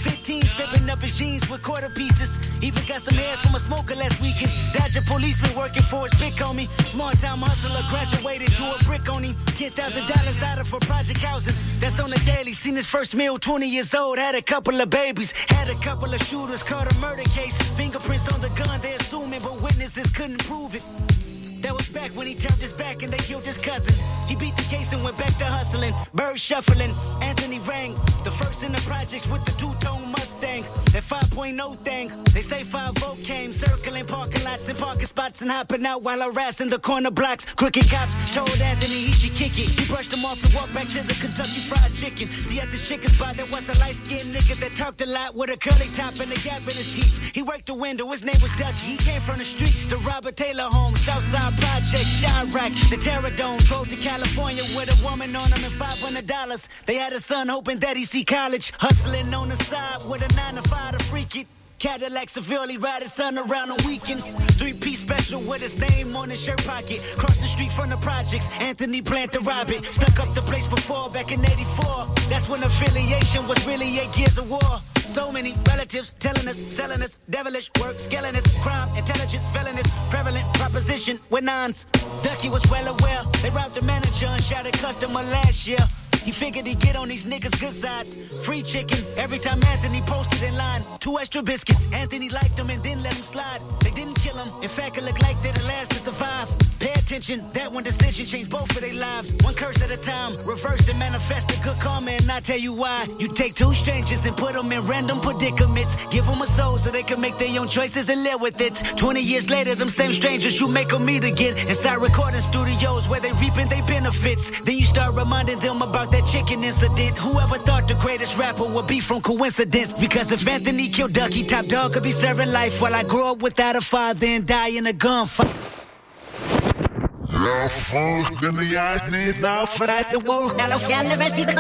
O: 15, scraping up his jeans with quarter pieces. Even got some hair from a smoker last weekend. Dodger policeman working for his big homie. Small time hustler graduated to a brick on him. $10,000 out of for project housing. That's on the daily. Seen his first meal, 20 years old. Had a couple of babies. Had a couple of shooters. Caught a murder case. Fingerprints on the gun, they assuming, but witnesses couldn't prove it. That was back when he turned his back and they killed his cousin. He beat the case and went back to hustling. Bird shuffling, Anthony rang. The first in the projects with the two-tone Mustang. That 5.0 thing. They say 5-0 came, circling parking lots and parking spots and hopping out while harassing the corner blocks. Crooked cops told Anthony he should kick it. He brushed him off and walked back to the Kentucky Fried Chicken. See, at this chicken spot there was a light-skinned nigga that talked a lot with a curly top and a gap in his teeth. He worked the window, his name was Ducky. He came from the streets, the Robert Taylor home, Southside Project, Chirac, the Terror Dome. Drove to California with a woman on him and $500. They had a son hoping that he'd see college. Hustling on the side with a 9-to-5 to freak it. Cadillac severely ride his son around on weekends. 3-piece special with his name on his shirt pocket. Cross the street from the projects, Anthony planned to rob it. Stuck up the place before back in 84. That's when affiliation was really 8 years of war. So many relatives telling us, selling us, devilish work, scaling us, crime, intelligence, felonious, prevalent proposition with nons. Ducky was well aware. They robbed the manager and shot a customer last year. He figured he'd get on these niggas' good sides. Free chicken every time Anthony posted in line. 2 extra biscuits. Anthony liked them and didn't let them slide. They didn't kill him. In fact, it looked like they're the last to survive. Pay attention. That one decision changed both of their lives. One curse at a time. Reversed and manifested good karma, and I'll tell you why. You take 2 strangers and put them in random predicaments. Give them a soul so they can make their own choices and live with it. 20 years later, them same strangers you make them meet again. Inside recording studios where they reaping their benefits. Then you start reminding them about that chicken incident. Whoever thought the greatest rapper would be from coincidence? Because if Anthony killed Ducky, Top Dog could be serving life while I grow up without a father and die in a gunfight.
S: La France de l'IH n'est pas
O: frère de war.
K: Alors fier le reste du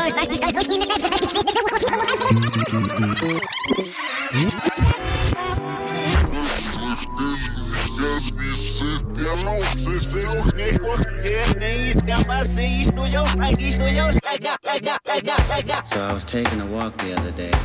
T: So I was taking a walk the other day.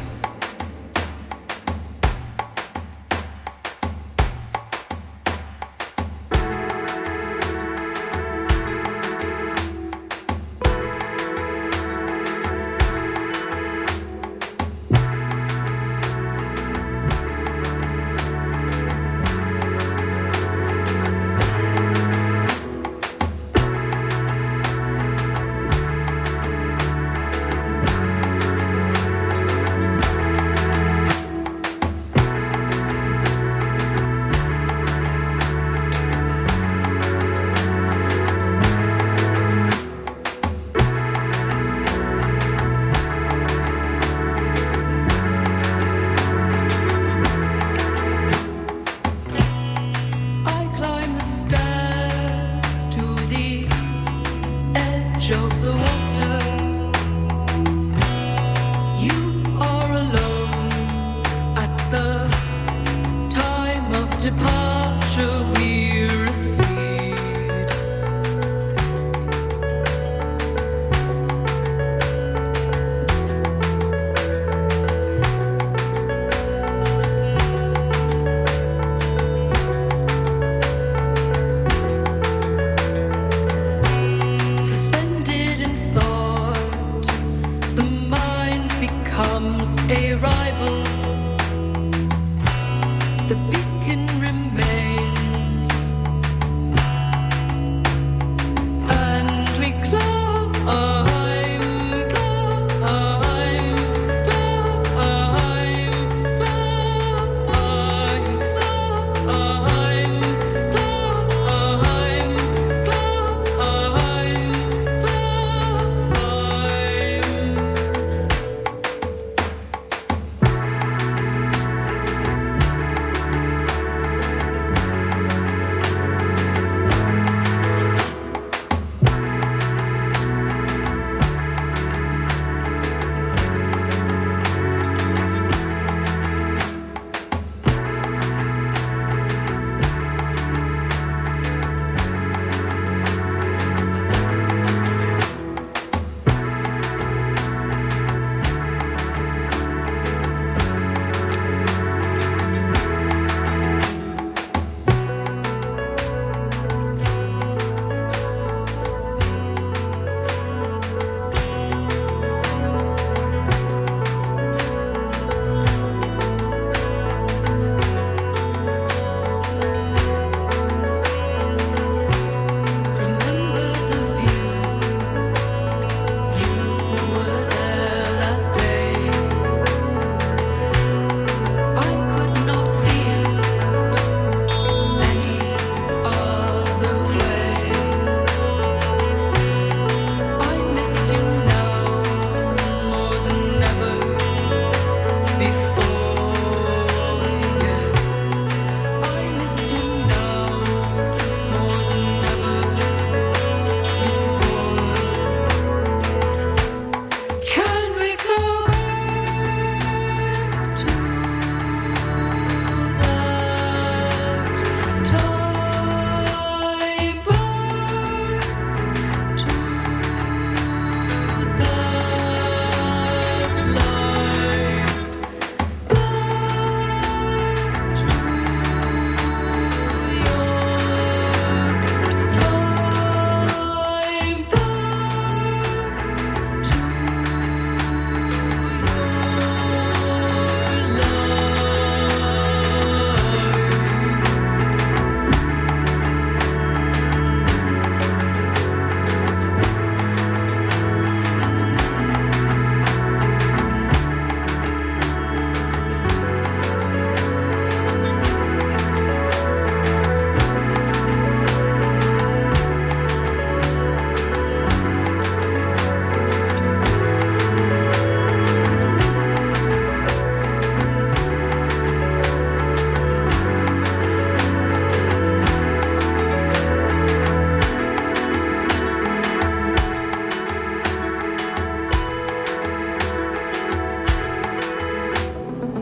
U: A rival, the beacon remains.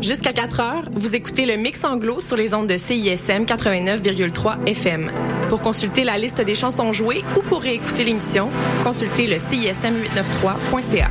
B: Jusqu'à 4 heures, vous écoutez le Mix Anglo sur les ondes de CISM 89,3 FM. Pour consulter la liste des chansons jouées ou pour réécouter l'émission, consultez le CISM893.ca.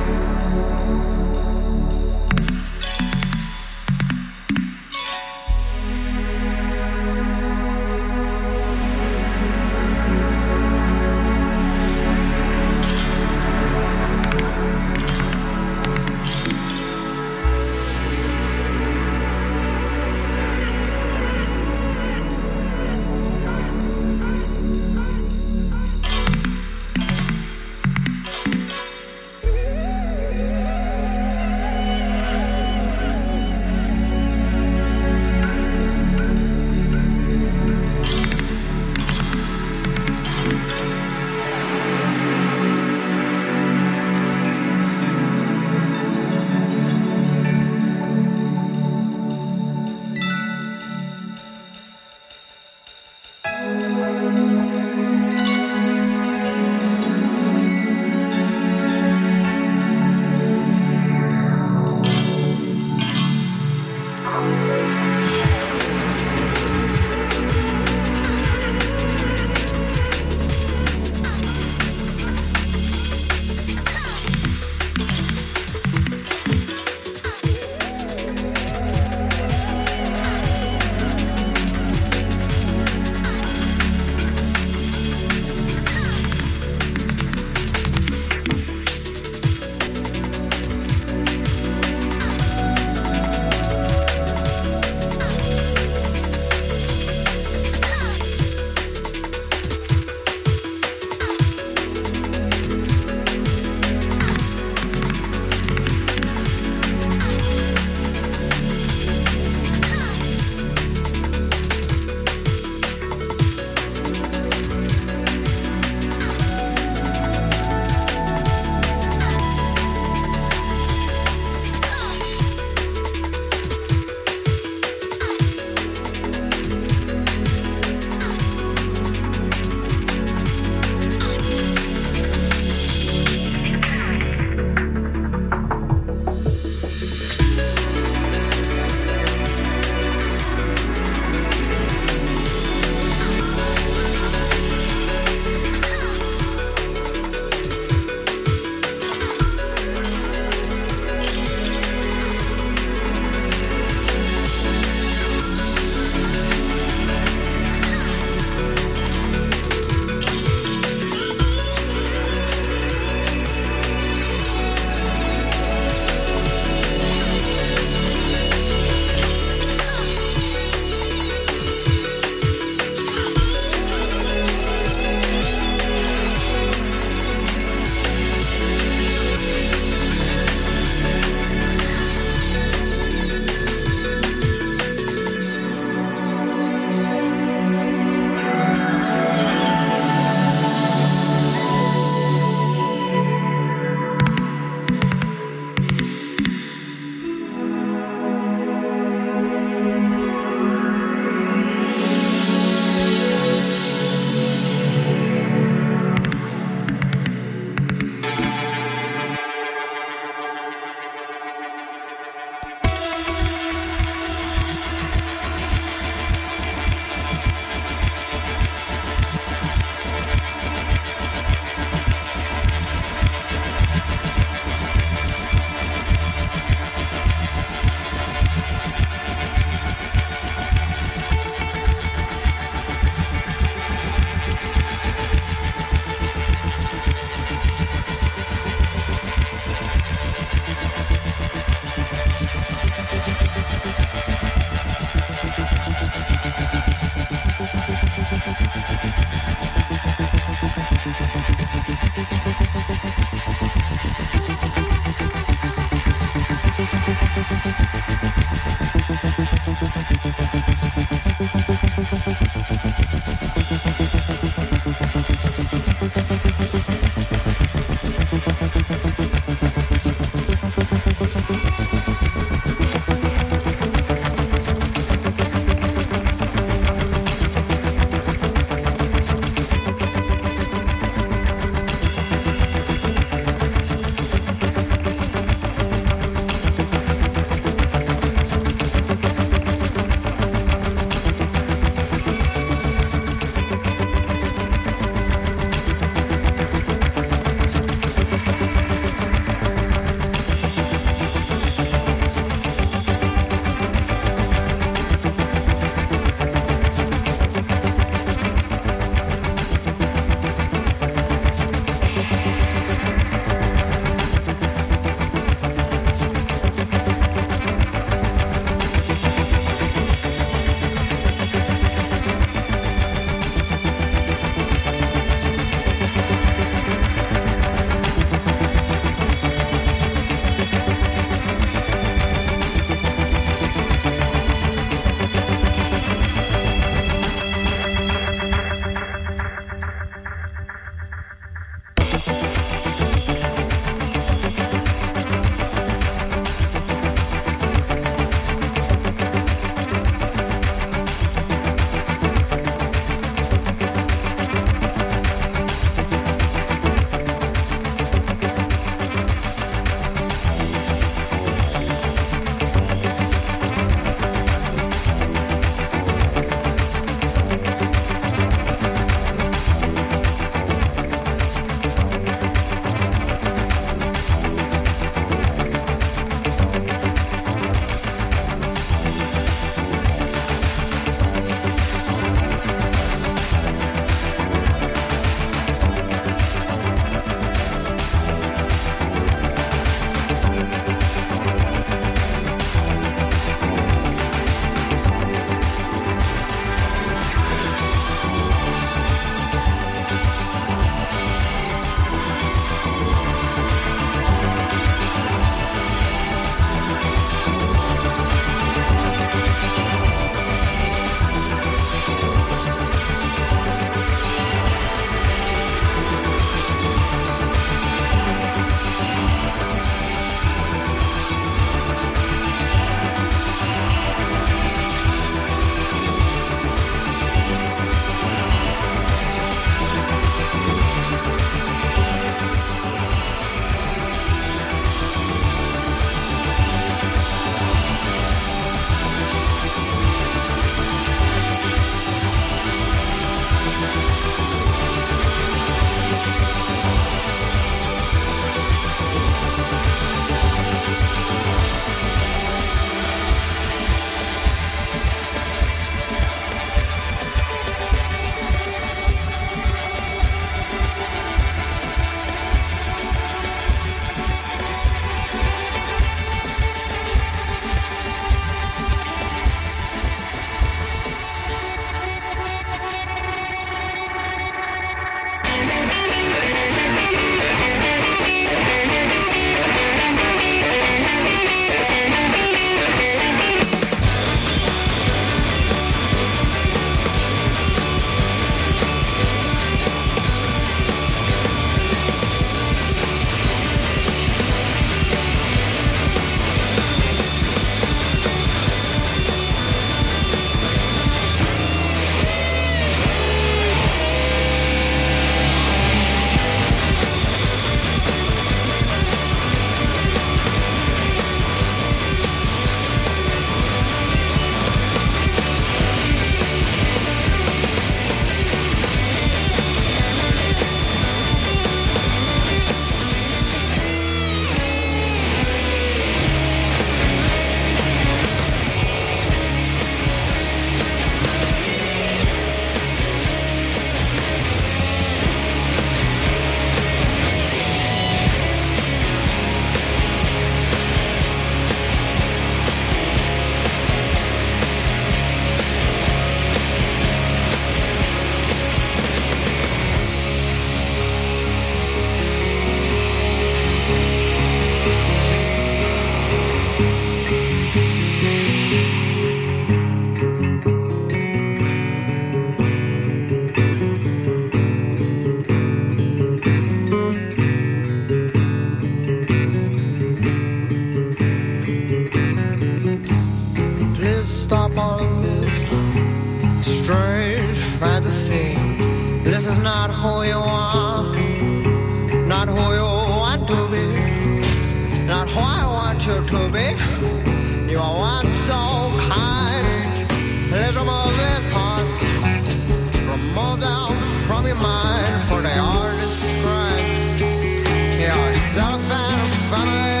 U: strange fantasy. This is not who you are, not who you want to be, not who I want you to be. You are once so kind. Let's remove these thoughts, remove them from your mind, for they are described. Yourself and family.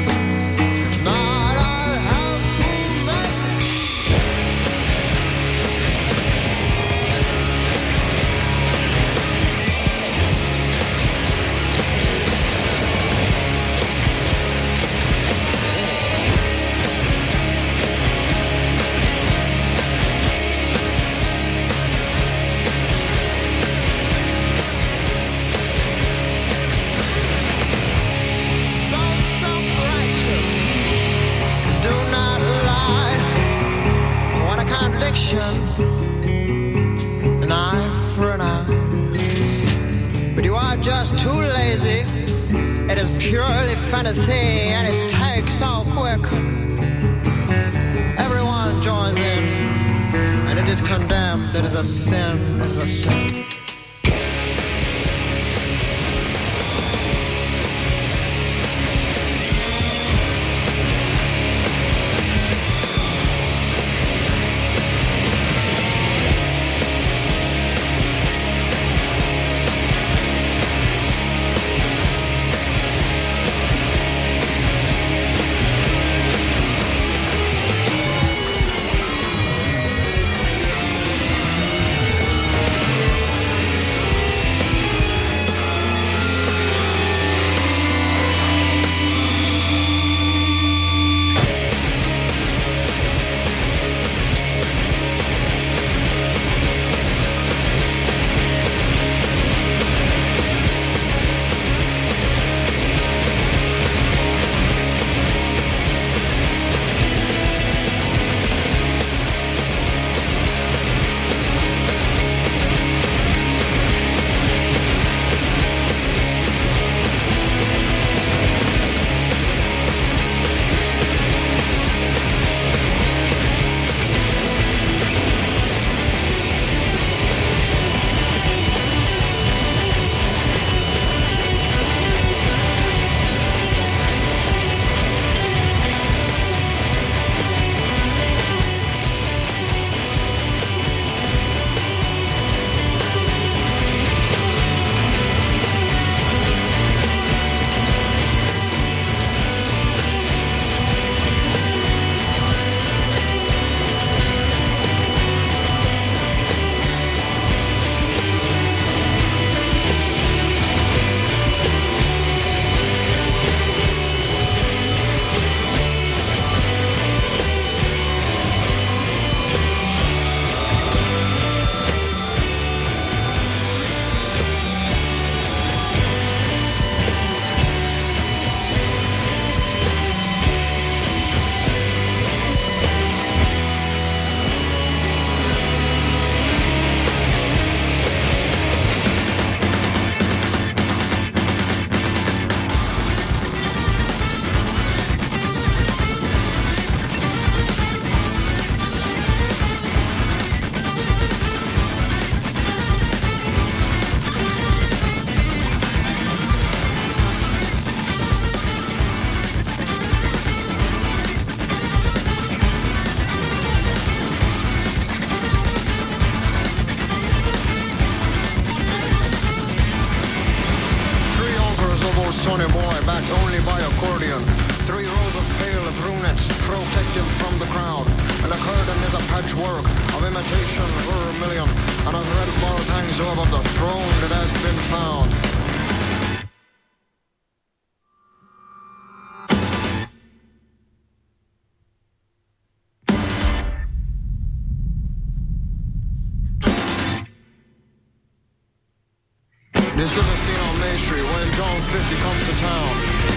U: An eye for an eye, but you are just too lazy. It is purely fantasy, and it takes so quick. Everyone joins in, and it is condemned. It is a sin. It is a sin. This is a scene on Main Street when John 50 comes to town.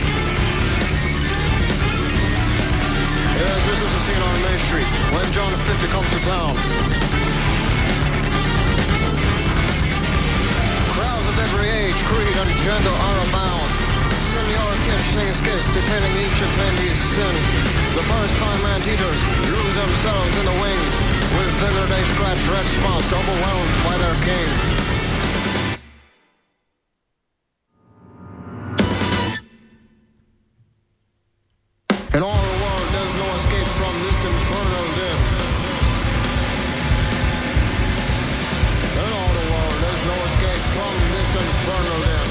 U: Yes, this is a scene on Main Street when John 50 comes to town. Crowds of every age, creed, and gender are abound. Senor Kish sings skits detailing each attendee's sins. The first-time anteaters lose themselves in the wings. With vigor they scratch red spots, overwhelmed by their king. In all the world, there's no escape from this infernal dim. In all the world, there's no escape from this infernal dim.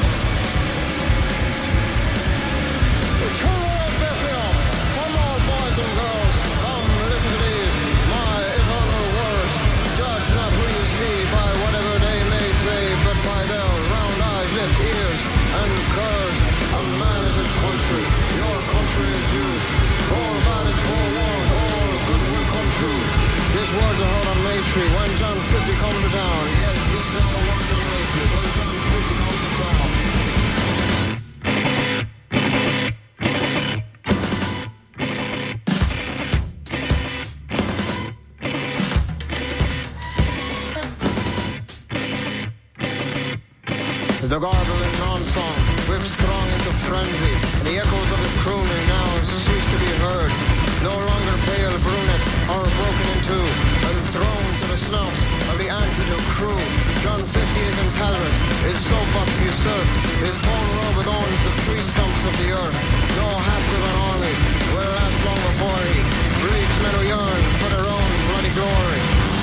U: Eternal of Bethlehem, from all boys and girls, come listen to these, my eternal words. Judge not who you see by whatever they may say, but by their round eyes, lips, ears, and curves. A man is his country, your country is you. All man is forewarned, all good will come true. These words are heard on May Street when John 50 comes to town. Yes, these are the words of May Street when John 50 comes to town. The garbling non-song whips strong into frenzy, and the echoes of his crooning now cease to be heard. No longer pale brunettes are broken in two and thrown to the snouts of the antidote crew. John 50 is in Talbot, his soapbox usurped, his torn robe adorns the tree stumps of the earth. No half-driven army will last long before he breeds men who yearn for their own bloody glory.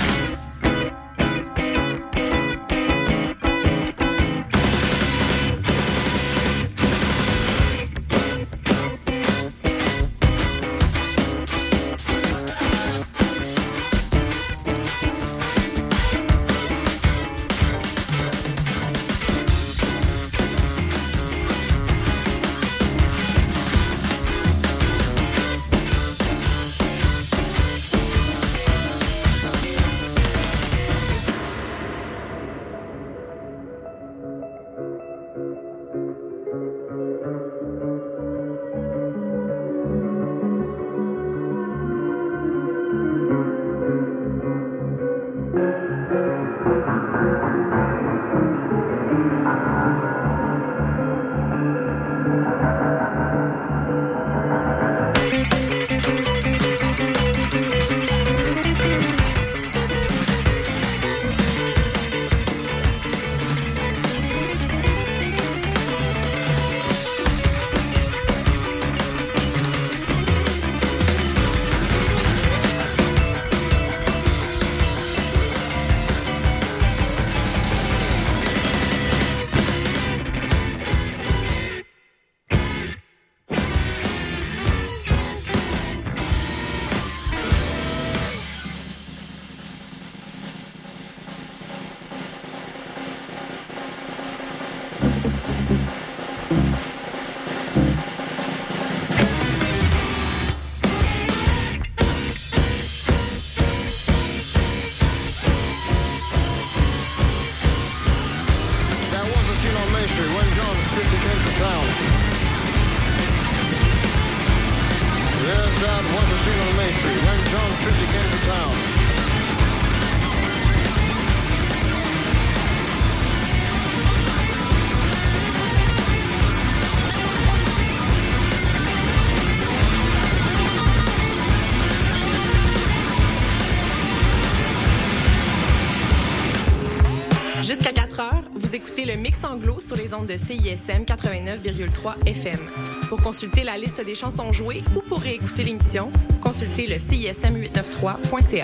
B: Jusqu'à 4h, vous écoutez le Mix Anglo sur les ondes de CISM 89,3 FM. Pour consulter la liste des chansons jouées ou pour réécouter l'émission, consultez le CISM893.ca.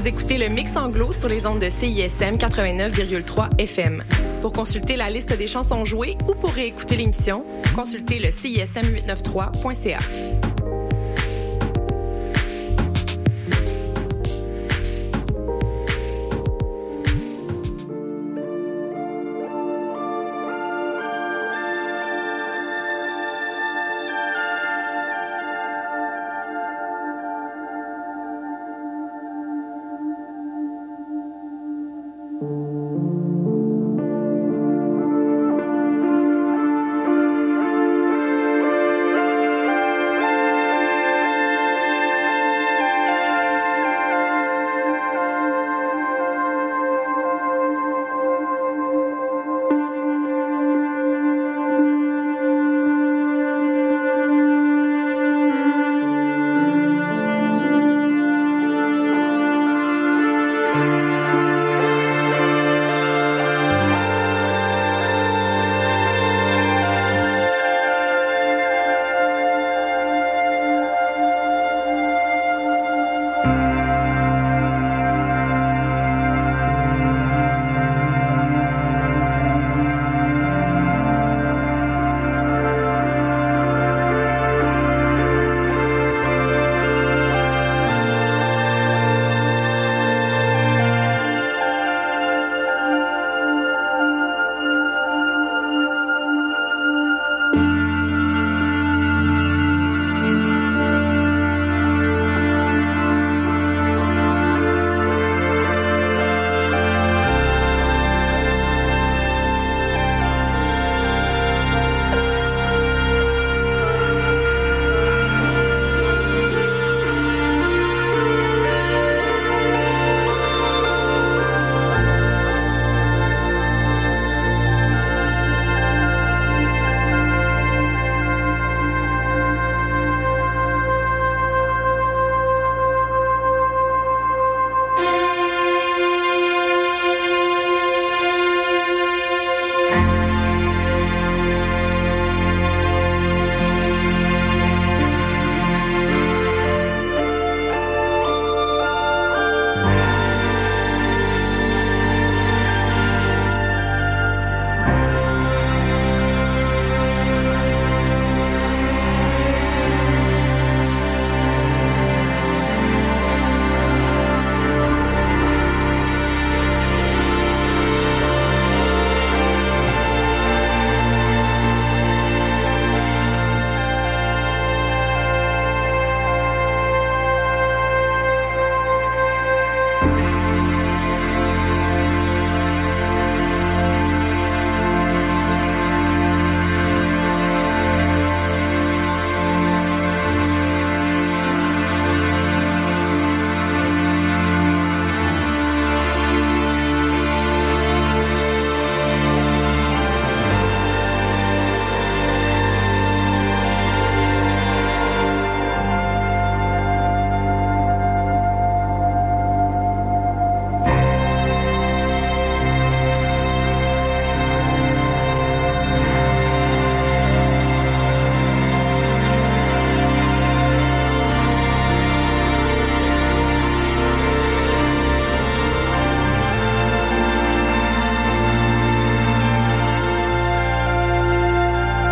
B: Vous écoutez le Mix Anglo sur les ondes de CISM 89,3 FM. Pour consulter la liste des chansons jouées ou pour réécouter l'émission, consultez le CISM893.ca.